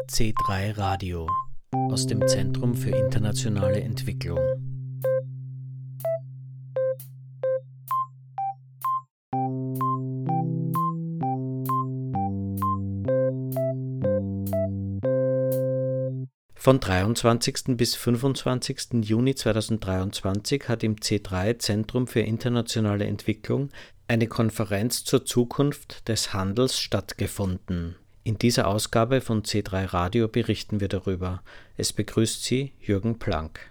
C3 Radio aus dem Zentrum für internationale Entwicklung. Von 23. bis 25. Juni 2023 hat im C3 Zentrum für internationale Entwicklung eine Konferenz zur Zukunft des Handels stattgefunden. In dieser Ausgabe von C3 Radio berichten wir darüber. Es begrüßt Sie Jürgen Planck.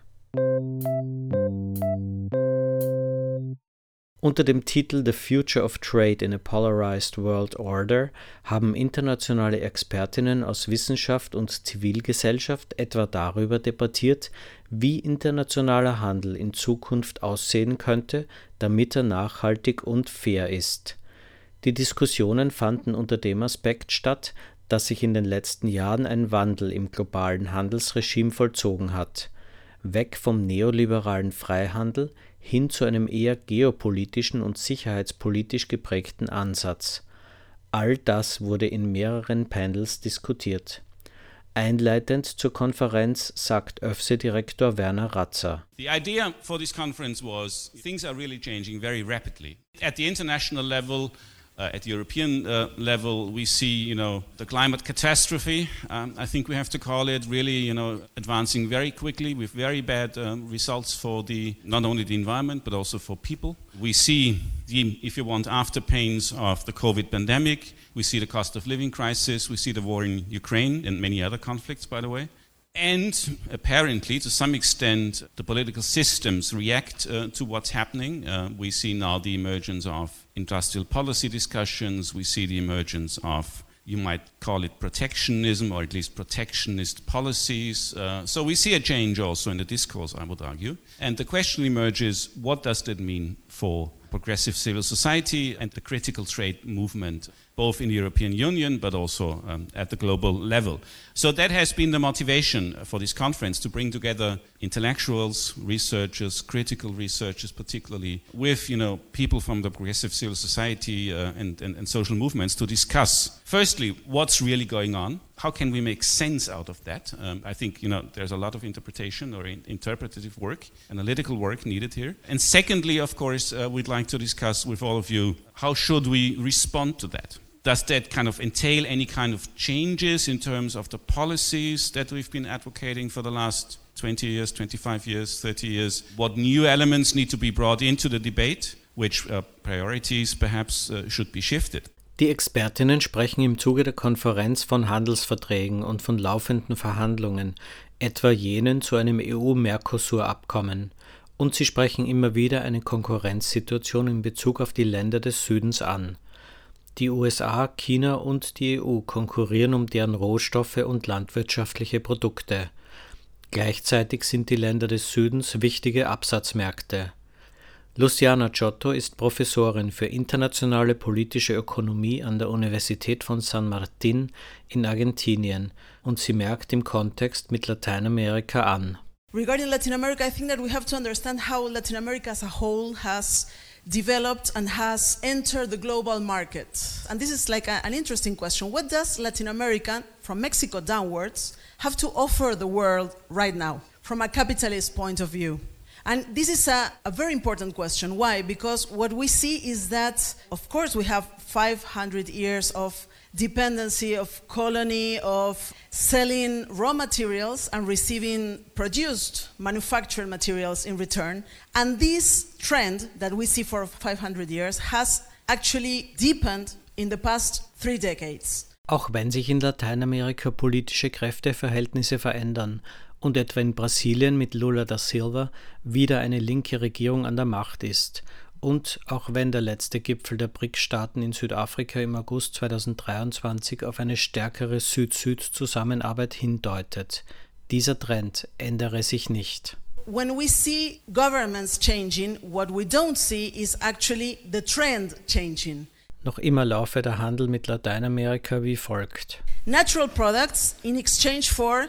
Unter dem Titel The Future of Trade in a Polarized World Order haben internationale Expertinnen aus Wissenschaft und Zivilgesellschaft etwa darüber debattiert, wie internationaler Handel in Zukunft aussehen könnte, damit er nachhaltig und fair ist. Die Diskussionen fanden unter dem Aspekt statt, dass sich in den letzten Jahren ein Wandel im globalen Handelsregime vollzogen hat. Weg vom neoliberalen Freihandel hin zu einem eher geopolitischen und sicherheitspolitisch geprägten Ansatz. All das wurde in mehreren Panels diskutiert. Einleitend zur Konferenz sagt ÖFSE-Direktor Werner Ratzer. The idea for this conference was things are really changing very rapidly. At the international level, at the European level, we see, the climate catastrophe, I think we have to call it, really, advancing very quickly with very bad results for not only the environment, but also for people. We see if you want, after pains of the COVID pandemic. We see the cost of living crisis. We see the war in Ukraine and many other conflicts, by the way. And apparently, to some extent, the political systems react to what's happening. We see now the emergence of industrial policy discussions. We see the emergence of, you might call it protectionism, or at least protectionist policies. So we see a change also in the discourse, I would argue. And the question emerges, what does that mean for progressive civil society and the critical trade movement, both in the European Union but also at the global level. So that has been the motivation for this conference, to bring together intellectuals, researchers, critical researchers particularly, with people from the progressive civil society and social movements to discuss, firstly, what's really going on. How can we make sense out of that? I think there's a lot of interpretation or interpretative work, analytical work needed here. And secondly, of course, we'd like to discuss with all of you, how should we respond to that? Does that kind of entail any kind of changes in terms of the policies that we've been advocating for the last 20 years, 25 years, 30 years? What new elements need to be brought into the debate? Which priorities perhaps should be shifted? Die Expertinnen sprechen im Zuge der Konferenz von Handelsverträgen und von laufenden Verhandlungen, etwa jenen zu einem EU-Mercosur-Abkommen. Und sie sprechen immer wieder eine Konkurrenzsituation in Bezug auf die Länder des Südens an. Die USA, China und die EU konkurrieren um deren Rohstoffe und landwirtschaftliche Produkte. Gleichzeitig sind die Länder des Südens wichtige Absatzmärkte. Luciana Giotto ist Professorin für internationale politische Ökonomie an der Universität von San Martín in Argentinien und sie merkt im Kontext mit Lateinamerika an. Regarding Latin America, I think that we have to understand how Latin America as a whole has developed and has entered the global market. And this is like an interesting question. What does Latin America, from Mexico downwards, have to offer the world right now, from a capitalist point of view? And this is a very important question. Why? Because what we see is that, of course, we have 500 years of dependency, of colony, of selling raw materials and receiving produced manufactured materials in return. And this trend that we see for 500 years has actually deepened in the past 3 decades. Auch wenn sich in Lateinamerika politische Kräfteverhältnisse verändern und etwa in Brasilien mit Lula da Silva wieder eine linke Regierung an der Macht ist. Und auch wenn der letzte Gipfel der BRICS-Staaten in Südafrika im August 2023 auf eine stärkere Süd-Süd-Zusammenarbeit hindeutet. Dieser Trend ändere sich nicht. When we see governments changing, what we don't see is actually the trend changing. Noch immer laufe der Handel mit Lateinamerika wie folgt. Natural products in exchange for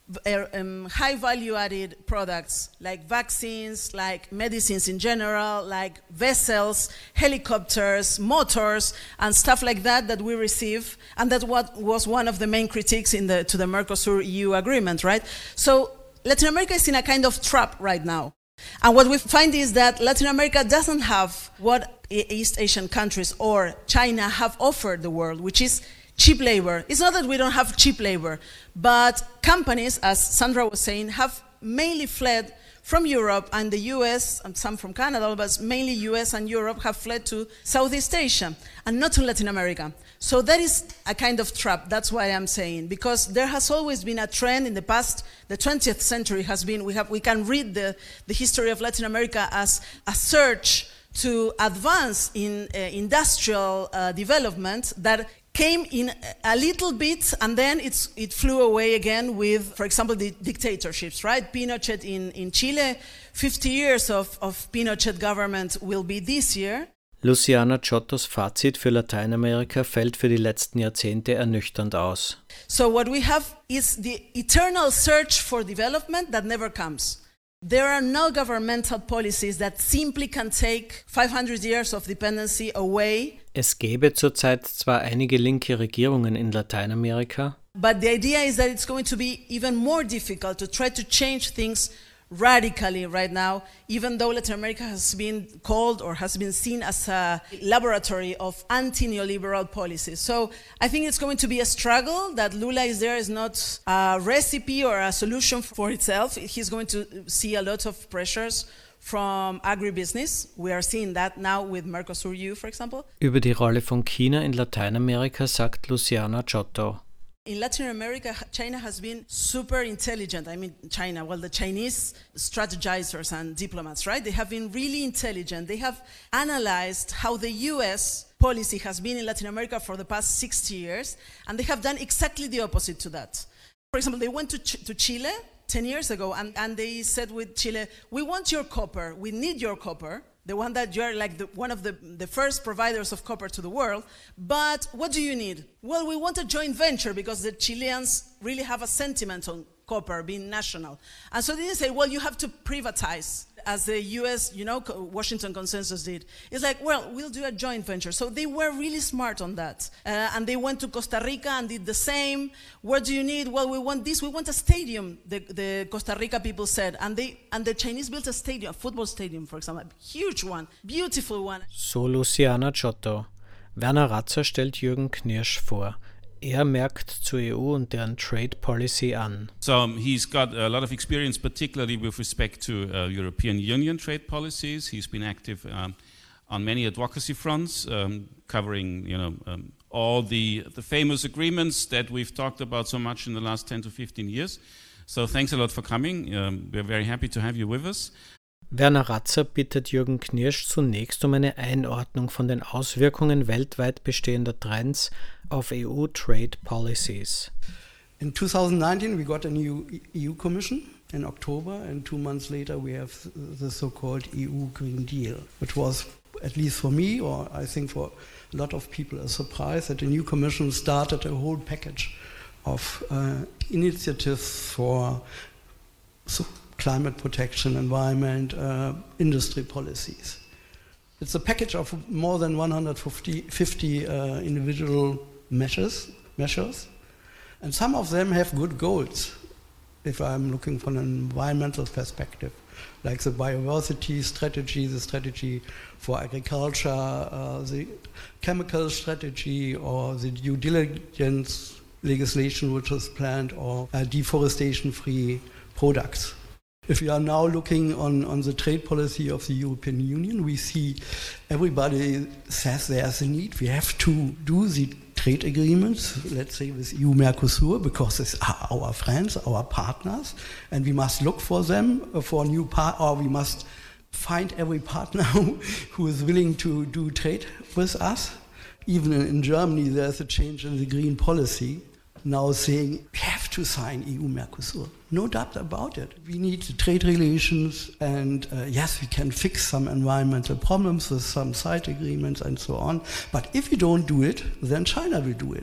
high value-added products like vaccines, like medicines in general, like vessels, helicopters, motors, and stuff like that we receive. And that was one of the main critiques to the Mercosur-EU agreement, right? So Latin America is in a kind of trap right now. And what we find is that Latin America doesn't have what East Asian countries or China have offered the world, which is cheap labor. It's not that we don't have cheap labor, but companies, as Sandra was saying, have mainly fled from Europe and the US, and some from Canada, but mainly US and Europe have fled to Southeast Asia and not to Latin America. So that is a kind of trap, that's why I'm saying, because there has always been a trend in the past, the 20th century has been, we can read the history of Latin America as a search to advance in industrial development that came in a little bit and then it flew away again with, for example, the dictatorships, right? Pinochet in Chile, 50 years of Pinochet government will be this year. Luciana Giottos Fazit für Lateinamerika fällt für die letzten Jahrzehnte ernüchternd aus. So what we have is the eternal search for development that never comes. There are no governmental policies that simply can take 500 years of dependency away. Es gäbe zurzeit zwar einige linke Regierungen in Lateinamerika, but the idea is that it's going to be even more difficult to try to change things radically right now, even though Latin America has been called or has been seen as a laboratory of anti-neoliberal policies. So I think it's going to be a struggle. That Lula is there is not a recipe or a solution for itself. He's going to see a lot of pressures from agribusiness. We are seeing that now with Mercosur-EU, for example. Über die Rolle von China in Lateinamerika sagt Luciana Giotto. In Latin America, China has been super intelligent. I mean, the Chinese strategizers and diplomats, right? They have been really intelligent. They have analyzed how the US policy has been in Latin America for the past 60 years, and they have done exactly the opposite to that. For example, they went to Chile 10 years ago, and they said with Chile, we want your copper, we need your copper, the one that you're like one of the first providers of copper to the world, but what do you need? Well, we want a joint venture because the Chileans really have a sentiment on copper being national. And so they say, well, you have to privatize, as the US, Washington Consensus did. It's like, well, we'll do a joint venture. So they were really smart on that. And they went to Costa Rica and did the same. What do you need? Well, we want this. We want a stadium, the Costa Rica people said. And the Chinese built a stadium, a football stadium, for example. A huge one, beautiful one. So Luciana Giotto. Werner Ratzer stellt Jürgen Knirsch vor. merkt zur EU und deren Trade Policy an. So he's got a lot of experience, particularly with respect to European Union trade policies. He's been active on many advocacy fronts, covering all the famous agreements that we've talked about so much in the last 10 to 15 years. So thanks a lot for coming. We're very happy to have you with us. Werner Ratzer bittet Jürgen Knirsch zunächst um eine Einordnung von den Auswirkungen weltweit bestehender Trends auf EU-Trade Policies. In 2019 we got a new EU Commission in October, and 2 months later we have the so-called EU Green Deal, which was, at least for me, or I think for a lot of people, a surprise that the new Commission started a whole package of initiatives for climate protection, environment, industry policies. It's a package of more than 150 individual measures, and some of them have good goals, if I'm looking from an environmental perspective, like the biodiversity strategy, the strategy for agriculture, the chemical strategy, or the due diligence legislation which is planned, or deforestation-free products. If we are now looking on the trade policy of the European Union, we see everybody says there's a need. We have to do the trade agreements, let's say with EU-Mercosur, because it's our friends, our partners, and we must look for them for a new or we must find every partner who is willing to do trade with us. Even in Germany, there's a change in the green policy, now saying we have to sign EU-Mercosur. No doubt about it. We need trade relations, and yes, we can fix some environmental problems with some side agreements and so on. But if we don't do it, then China will do it.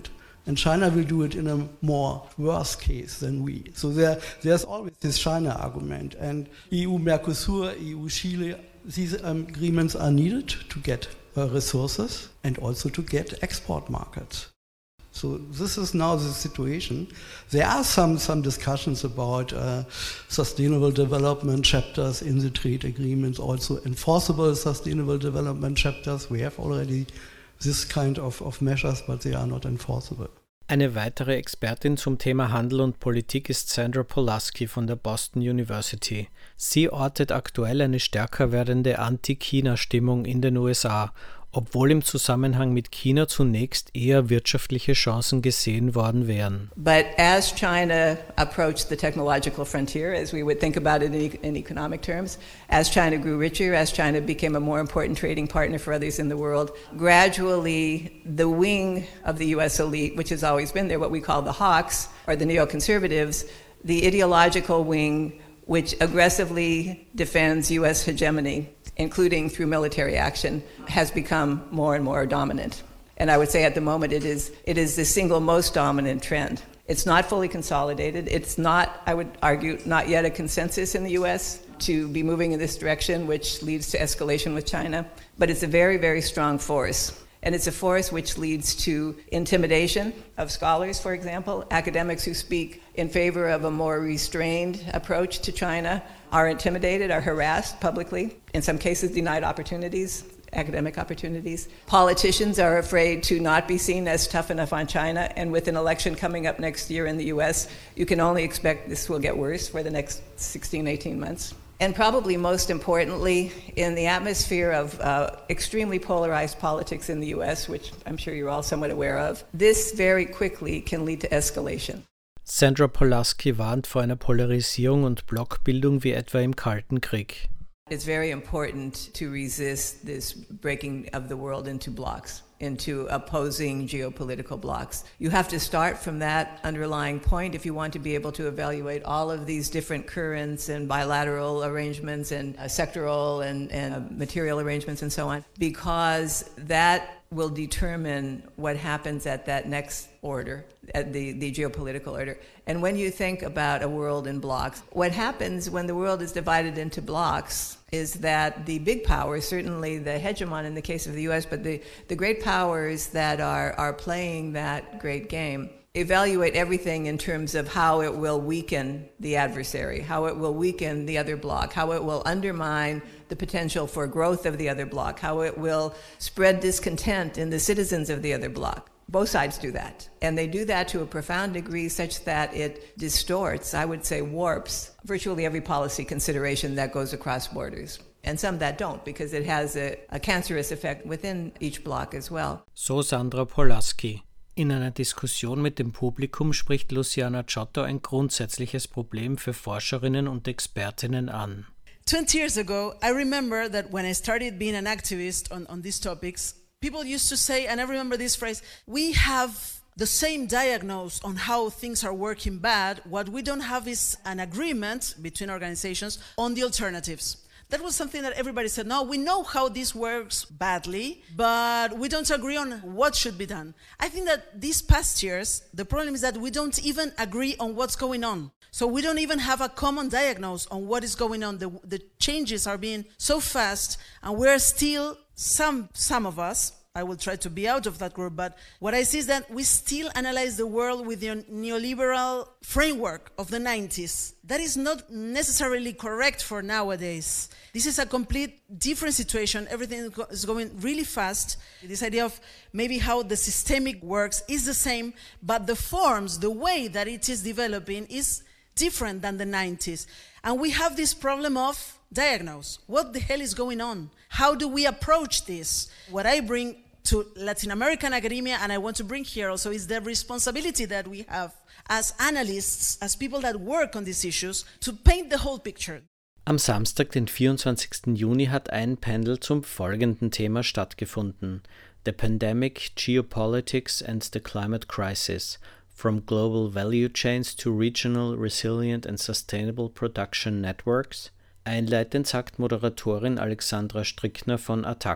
And China will do it in a more worse case than we. So there's always this China argument. And EU-Mercosur, EU-Chile, these agreements are needed to get resources and also to get export markets. So this is now the situation. There are some discussions about sustainable development chapters in the trade agreements, also enforceable sustainable development chapters. We have already this kind of measures, but they are not enforceable. Eine weitere Expertin zum Thema Handel und Politik ist Sandra Polaski von der Boston University. Sie ortet aktuell eine stärker werdende Anti-China-Stimmung in den USA, obwohl im Zusammenhang mit China zunächst eher wirtschaftliche Chancen gesehen worden wären. But as China approached the technological frontier, as we would think about it in economic terms, as China grew richer, as China became a more important trading partner for others in the world, gradually the wing of the US elite, which has always been there, what we call the hawks, or the neoconservatives, the ideological wing which aggressively defends US hegemony, including through military action, has become more and more dominant. And I would say at the moment it is the single most dominant trend. It's not fully consolidated. It's not, I would argue, not yet a consensus in the US to be moving in this direction, which leads to escalation with China. But it's a very, very strong force. And it's a force which leads to intimidation of scholars, for example. Academics who speak in favor of a more restrained approach to China are intimidated, are harassed publicly, in some cases denied opportunities, academic opportunities. Politicians are afraid to not be seen as tough enough on China, and with an election coming up next year in the US, you can only expect this will get worse for the next 16, 18 months. And probably most importantly, in the atmosphere of extremely polarized politics in the US, which I'm sure you're all somewhat aware of, this very quickly can lead to escalation. Sandra Polaski warnt vor einer Polarisierung und Blockbildung wie etwa im Kalten Krieg. It's very important to resist this breaking of the world into blocks, into opposing geopolitical blocks. You have to start from that underlying point if you want to be able to evaluate all of these different currents and bilateral arrangements and sectoral and material arrangements and so on, because that will determine what happens at that next order, at the geopolitical order. And when you think about a world in blocks, what happens when the world is divided into blocks is that the big powers, certainly the hegemon in the case of the US, but the great powers that are playing that great game, evaluate everything in terms of how it will weaken the adversary, how it will weaken the other bloc, how it will undermine the potential for growth of the other bloc, how it will spread discontent in the citizens of the other bloc. Both sides do that. And they do that to a profound degree such that it distorts, I would say warps, virtually every policy consideration that goes across borders. And some that don't, because it has a cancerous effect within each bloc as well. So Sandra Polaski. In einer Diskussion mit dem Publikum spricht Luciana Ciotto ein grundsätzliches Problem für Forscherinnen und Expertinnen an. 20 years ago, I remember that when I started being an activist on these topics, people used to say, and I remember this phrase, we have the same diagnosis on how things are working bad. What we don't have is an agreement between organizations on the alternatives. That was something that everybody said, no, we know how this works badly, but we don't agree on what should be done. I think that these past years, the problem is that we don't even agree on what's going on. So we don't even have a common diagnosis on what is going on. The changes are being so fast, and we're still, some of us, I will try to be out of that group, but what I see is that we still analyze the world with the neoliberal framework of the 90s. That is not necessarily correct for nowadays. This is a complete different situation. Everything is going really fast. This idea of maybe how the systemic works is the same, but the forms, the way that it is developing is different than the 90s. And we have this problem of diagnose. What the hell is going on? How do we approach this? What I bring to Latin American academia, and I want to bring here also, is the responsibility that we have as analysts, as people that work on these issues, to paint the whole picture. Am Samstag, den 24. Juni, hat ein Panel zum folgenden Thema stattgefunden: The Pandemic, Geopolitics and the Climate Crisis – From Global Value Chains to Regional, Resilient and Sustainable Production Networks. Einleitend sagt Moderatorin Alexandra Strickner von ATTAC.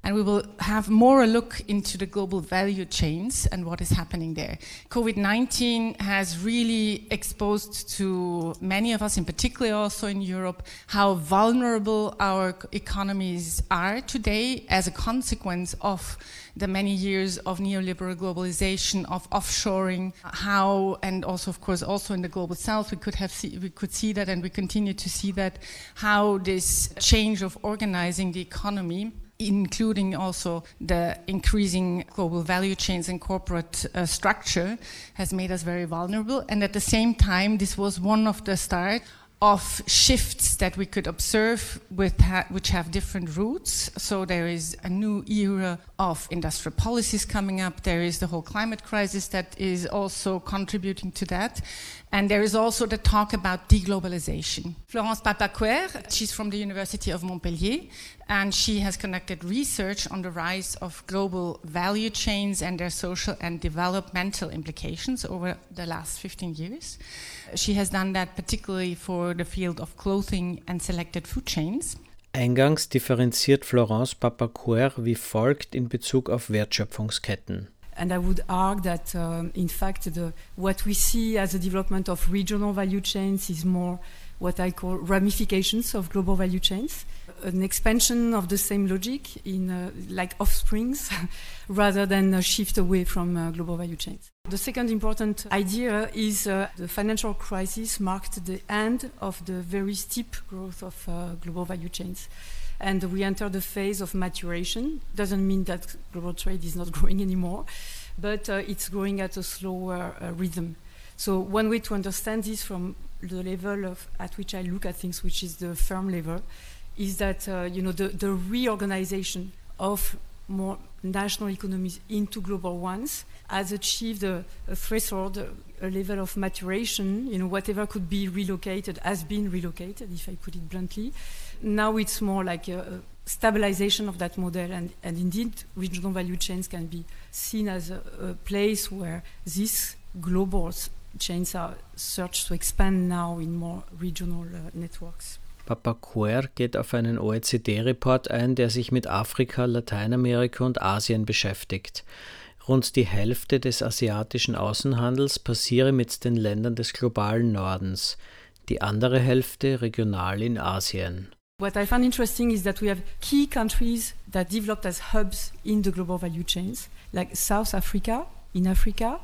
And we will have more a look into the global value chains and what is happening there. COVID-19 has really exposed to many of us, in particular also in Europe, how vulnerable our economies are today as a consequence of the many years of neoliberal globalization, of offshoring, how, and also of course also in the global south we could see that, and we continue to see that, how this change of organizing the economy, including also the increasing global value chains and corporate structure, has made us very vulnerable. And at the same time, this was one of the start of shifts that we could observe which have different roots. So there is a new era of industrial policies coming up. There is the whole climate crisis that is also contributing to that. And there is also the talk about deglobalization. Florence Papaquer, she's from the University of Montpellier, and she has conducted research on the rise of global value chains and their social and developmental implications over the last 15 years. She has done that particularly for the field of clothing and selected food chains. Eingangs differenziert Florence Papaquer wie folgt in Bezug auf Wertschöpfungsketten. And I would argue that, in fact, what we see as a development of regional value chains is more what I call ramifications of global value chains, an expansion of the same logic in like offsprings, rather than a shift away from global value chains. The second important idea is the financial crisis marked the end of the very steep growth of global value chains. And we entered a phase of maturation. Doesn't mean that global trade is not growing anymore, but it's growing at a slower rhythm. So one way to understand this from the level at which I look at things, which is the firm level, is that the reorganization of more national economies into global ones has achieved a threshold, a level of maturation. Whatever could be relocated has been relocated, if I put it bluntly. Now it's more like a stabilization of that model, and indeed regional value chains can be seen as a place where these global chains are searched to expand now in more regional networks. Papaquer geht auf einen OECD-Report ein, der sich mit Afrika, Lateinamerika und Asien beschäftigt. Rund die Hälfte des asiatischen Außenhandels passiere mit den Ländern des globalen Nordens, die andere Hälfte regional in Asien. What I found interesting is that we have key countries that developed as hubs in the global value chains, like South Africa, in Africa,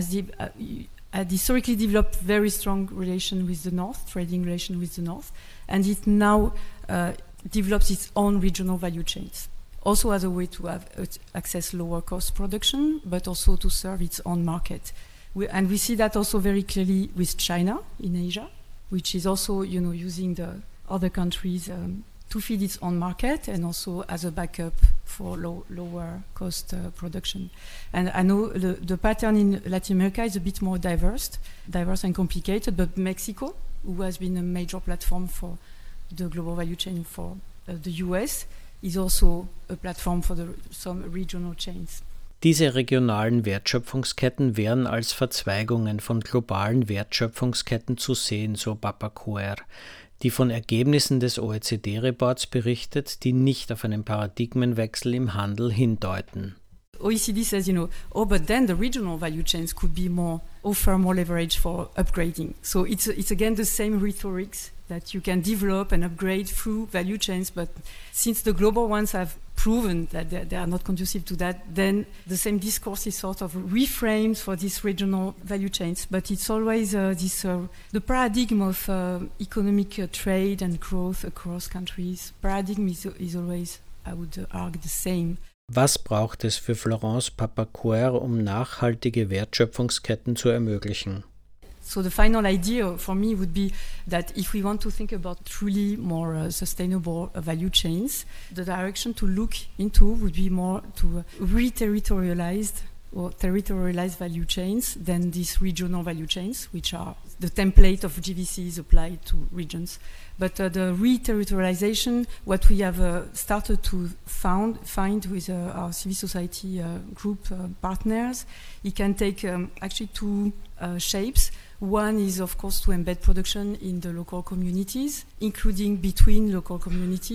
had historically developed very strong relation with the North, trading relation with the North, and it now develops its own regional value chains. Also as a way to have access lower cost production, but also to serve its own market. And we see that also very clearly with China in Asia, which is also using the other countries to feed its own market and also as a backup for lower cost production. And I know the pattern in Latin America is a bit more diverse and complicated, but Mexico, who has been a major platform for the global value chain for the US, is also a platform for some regional chains. Diese regionalen Wertschöpfungsketten wären als Verzweigungen von globalen Wertschöpfungsketten zu sehen, so Papaquer, die von Ergebnissen des OECD-Reports berichtet, die nicht auf einen Paradigmenwechsel im Handel hindeuten. OECD says, but then the regional value chains could be offer more leverage for upgrading. So it's again the same rhetorics that you can develop and upgrade through value chains, but since the global ones have proven that they are not conducive to that, then the same discourse is sort of reframed for these regional value chains. But it's always the paradigm of economic trade and growth across countries. Paradigm is always, I would argue, the same. Was braucht es für Florence Papaquer, um nachhaltige Wertschöpfungsketten zu ermöglichen? So the final idea for me would be that if we want to think about truly more sustainable value chains, the direction to look into would be more to re-territorialized or territorialized value chains than these regional value chains, which are the template of GVCs applied to regions. But the re-territorialization, what we have started to find with our civil society group partners, it can take actually two shapes. One is, of course, to embed production in the local communities, including between local communities,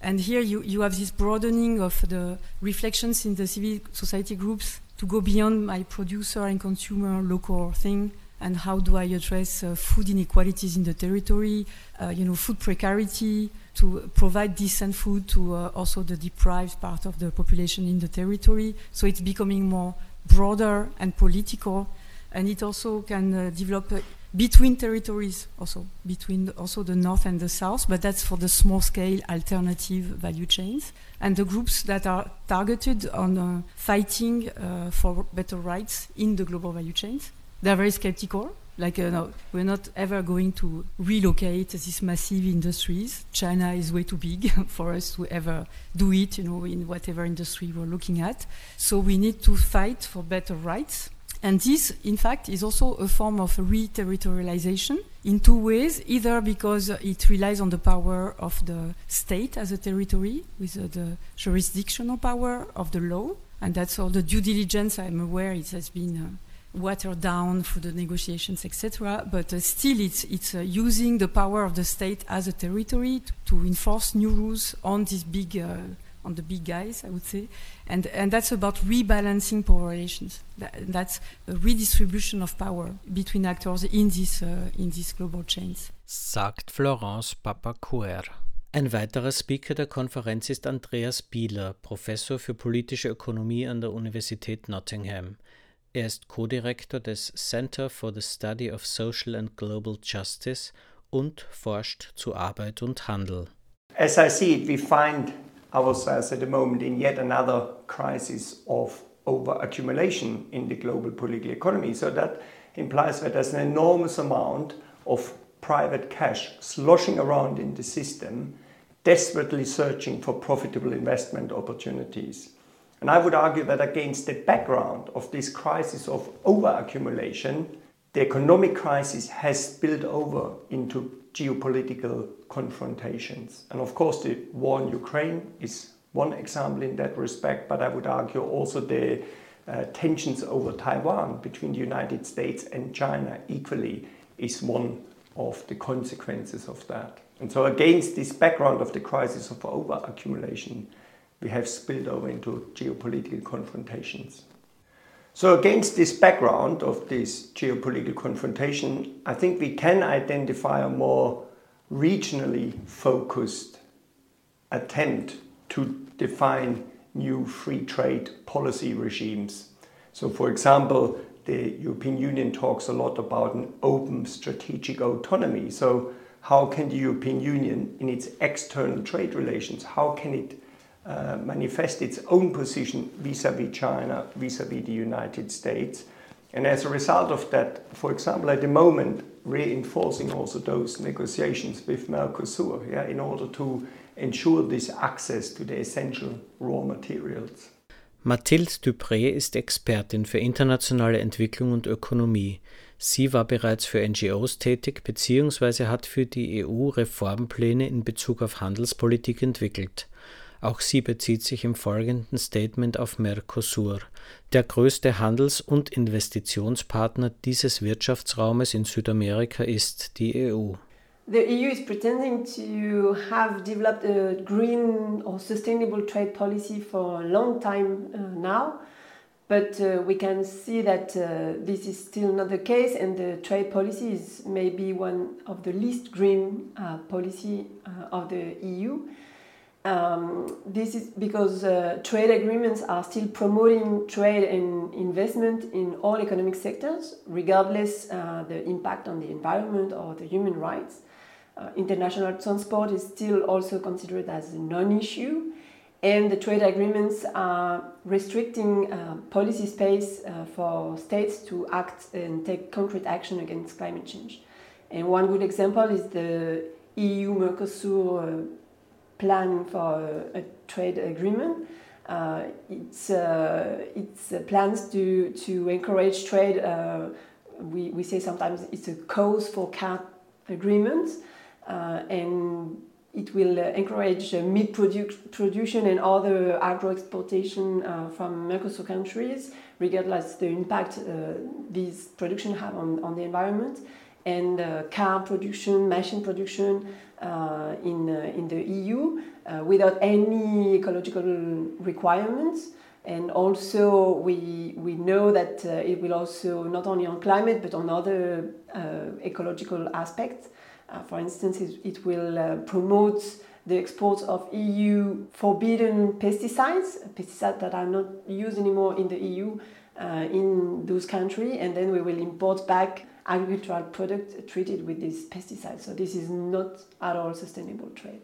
And here you have this broadening of the reflections in the civil society groups to go beyond my producer and consumer local thing, and how do I address food inequalities in the territory, food precarity, to provide decent food to also the deprived part of the population in the territory. So it's becoming more broader and political, and it also can develop between territories, also between also the north and the south, but that's for the small-scale alternative value chains. And the groups that are targeted on fighting for better rights in the global value chains, they're very skeptical. Like, no, we're not ever going to relocate these massive industries. China is way too big for us to ever do it, in whatever industry we're looking at. So we need to fight for better rights. And this, in fact, is also a form of re-territorialization in two ways, either because it relies on the power of the state as a territory, with the jurisdictional power of the law, and that's all the due diligence, I'm aware it has been watered down through the negotiations, etc. But still, it's using the power of the state as a territory to enforce new rules on these big, on the big guys, I would say, and that's about rebalancing power relations. That's a redistribution of power between actors in these global chains. Sagt Florence Papacuer. Ein weiterer Speaker der Konferenz ist Andreas Bieler, Professor für politische Ökonomie an der Universität Nottingham. Er ist Co-Direktor des Center for the Study of Social and Global Justice und forscht zu Arbeit und Handel. As I see it, we find ourselves at the moment in yet another crisis of over-accumulation in the global political economy. So that implies that there's an enormous amount of private cash sloshing around in the system, desperately searching for profitable investment opportunities. And I would argue that against the background of this crisis of over-accumulation, the economic crisis has spilled over into geopolitical confrontations. And of course, the war in Ukraine is one example in that respect, but I would argue also the tensions over Taiwan between the United States and China equally is one of the consequences of that. And so against this background of the crisis of over-accumulation, we have spilled over into geopolitical confrontations. So against this background of this geopolitical confrontation, I think we can identify a more regionally focused attempt to define new free trade policy regimes. So for example, the European Union talks a lot about an open strategic autonomy. So how can the European Union, in its external trade relations, how can it manifest its own position vis-à-vis China, vis-à-vis the United States? And as a result of that, for example, at the moment, reinforcing also those negotiations with Mercosur, in order to ensure this access to the essential raw materials. Mathilde Dupré ist Expertin für internationale Entwicklung und Ökonomie. Sie war bereits für NGOs tätig bzw. hat für die EU Reformpläne in Bezug auf Handelspolitik entwickelt. Auch sie bezieht sich im folgenden Statement auf Mercosur, der größte Handels- und Investitionspartner dieses Wirtschaftsraumes in Südamerika ist die EU. The EU is pretending to have developed a green or sustainable trade policy for a long time now, but we can see that this is still not the case, and the trade policy is maybe one of the least green policy of the EU. This is because trade agreements are still promoting trade and investment in all economic sectors, regardless the impact on the environment or the human rights. International transport is still also considered as a non-issue, and the trade agreements are restricting policy space for states to act and take concrete action against climate change. And one good example is the EU-Mercosur plan for a trade agreement. It's plans to encourage trade. We say sometimes it's a cause for cat agreements, and it will encourage meat production and other agro-exportation from Mercosur countries, regardless the impact these production have on the environment. and car production, machine production in the EU without any ecological requirements. And also we know that it will also, not only on climate, but on other ecological aspects. For instance, it will promote the export of EU forbidden pesticides that are not used anymore in the EU in those countries, and then we will import back agricultural products treated with these pesticides. So this is not at all sustainable trade.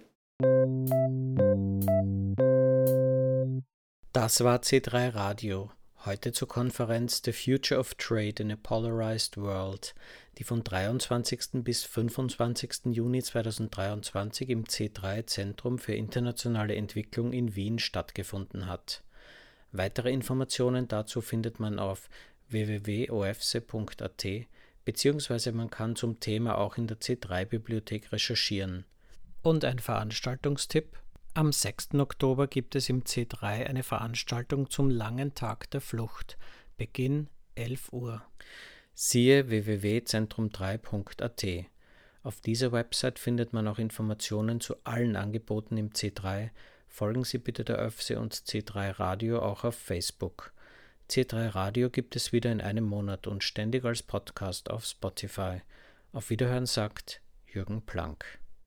Das war C3 Radio. Heute zur Konferenz The Future of Trade in a Polarized World, die von 23. bis 25. Juni 2023 im C3 Zentrum für internationale Entwicklung in Wien stattgefunden hat. Weitere Informationen dazu findet man auf www.ofse.at bzw. man kann zum Thema auch in der C3-Bibliothek recherchieren. Und ein Veranstaltungstipp: Am 6. Oktober gibt es im C3 eine Veranstaltung zum Langen Tag der Flucht. Beginn 11 Uhr. Siehe www.zentrum3.at. Auf dieser Website findet man auch Informationen zu allen Angeboten im C3. Folgen Sie bitte der ÖFSE und C3 Radio auch auf Facebook. C3 Radio gibt es wieder in einem Monat und ständig als Podcast auf Spotify. Auf Wiederhören sagt Jürgen Planck.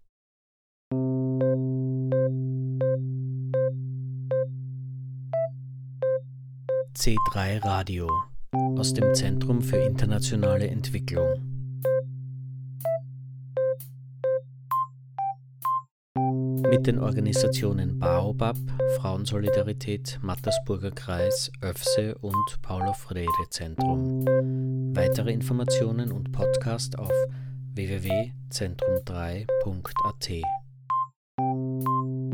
C3 Radio aus dem Zentrum für internationale Entwicklung. Mit den Organisationen Baobab, Frauensolidarität, Mattersburger Kreis, ÖFSE und Paulo-Freire-Zentrum. Weitere Informationen und Podcast auf www.zentrum3.at.